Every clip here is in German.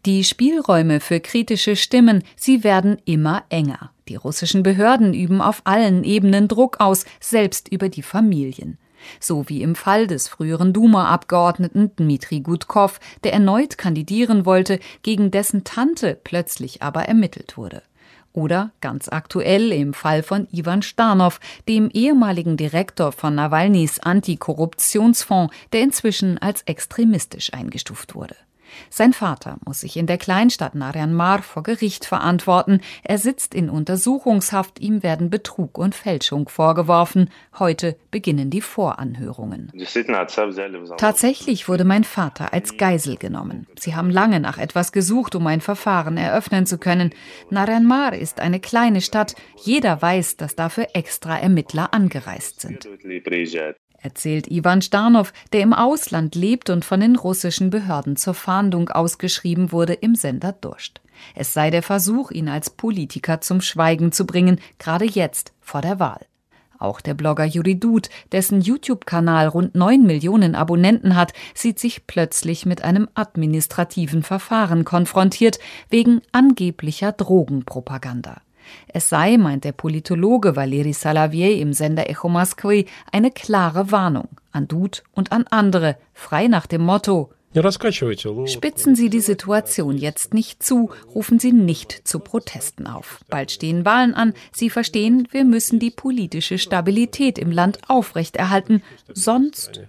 Die Spielräume für kritische Stimmen, sie werden immer enger. Die russischen Behörden üben auf allen Ebenen Druck aus, selbst über die Familien. So wie im Fall des früheren Duma-Abgeordneten Dmitri Gudkov, der erneut kandidieren wollte, gegen dessen Tante plötzlich aber ermittelt wurde. Oder ganz aktuell im Fall von Iwan Starnow, dem ehemaligen Direktor von Nawalnys Antikorruptionsfonds, der inzwischen als extremistisch eingestuft wurde. Sein Vater muss sich in der Kleinstadt Naryan-Mar vor Gericht verantworten. Er sitzt in Untersuchungshaft, ihm werden Betrug und Fälschung vorgeworfen. Heute beginnen die Voranhörungen. Tatsächlich wurde mein Vater als Geisel genommen. Sie haben lange nach etwas gesucht, um ein Verfahren eröffnen zu können. Naryan-Mar ist eine kleine Stadt. Jeder weiß, dass dafür extra Ermittler angereist sind. Erzählt Iwan Starnow, der im Ausland lebt und von den russischen Behörden zur Fahndung ausgeschrieben wurde, im Sender Dost. Es sei der Versuch, ihn als Politiker zum Schweigen zu bringen, gerade jetzt vor der Wahl. Auch der Blogger Yuri Dud, dessen YouTube-Kanal rund 9 Millionen Abonnenten hat, sieht sich plötzlich mit einem administrativen Verfahren konfrontiert, wegen angeblicher Drogenpropaganda. Es sei, meint der Politologe Valeri Salavey im Sender Echo Moskwy, eine klare Warnung an Dud und an andere, frei nach dem Motto: Spitzen Sie die Situation jetzt nicht zu, rufen Sie nicht zu Protesten auf. Bald stehen Wahlen an, Sie verstehen, wir müssen die politische Stabilität im Land aufrechterhalten, sonst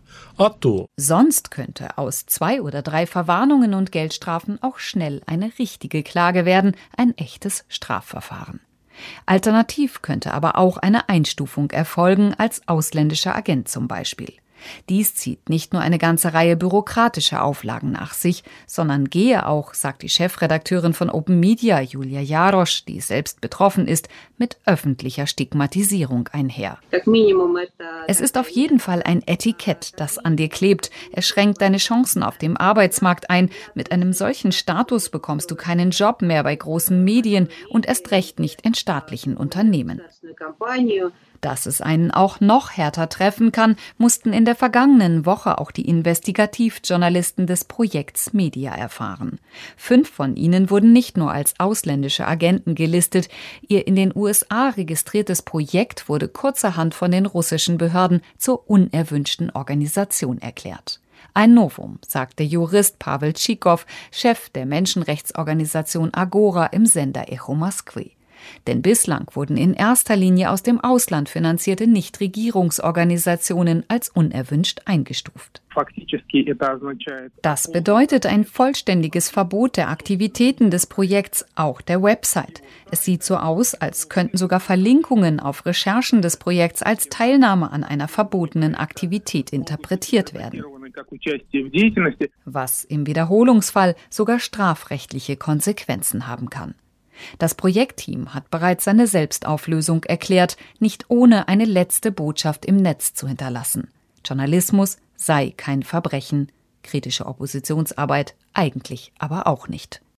könnte aus 2 oder 3 Verwarnungen und Geldstrafen auch schnell eine richtige Klage werden, ein echtes Strafverfahren. Alternativ könnte aber auch eine Einstufung erfolgen, als ausländischer Agent zum Beispiel. Dies zieht nicht nur eine ganze Reihe bürokratischer Auflagen nach sich, sondern gehe auch, sagt die Chefredakteurin von Open Media, Julia Jarosch, die selbst betroffen ist, mit öffentlicher Stigmatisierung einher. Es ist auf jeden Fall ein Etikett, das an dir klebt. Es schränkt deine Chancen auf dem Arbeitsmarkt ein. Mit einem solchen Status bekommst du keinen Job mehr bei großen Medien und erst recht nicht in staatlichen Unternehmen. Dass es einen auch noch härter treffen kann, mussten in der vergangenen Woche auch die Investigativjournalisten des Projekts Media erfahren. 5 von ihnen wurden nicht nur als ausländische Agenten gelistet. Ihr in den USA registriertes Projekt wurde kurzerhand von den russischen Behörden zur unerwünschten Organisation erklärt. Ein Novum, sagt der Jurist Pavel Tschikow, Chef der Menschenrechtsorganisation Agora im Sender Echo Moskwy. Denn bislang wurden in erster Linie aus dem Ausland finanzierte Nichtregierungsorganisationen als unerwünscht eingestuft. Das bedeutet ein vollständiges Verbot der Aktivitäten des Projekts, auch der Website. Es sieht so aus, als könnten sogar Verlinkungen auf Recherchen des Projekts als Teilnahme an einer verbotenen Aktivität interpretiert werden. Was im Wiederholungsfall sogar strafrechtliche Konsequenzen haben kann. Das Projektteam hat bereits seine Selbstauflösung erklärt, nicht ohne eine letzte Botschaft im Netz zu hinterlassen. Journalismus sei kein Verbrechen, kritische Oppositionsarbeit eigentlich aber auch nicht.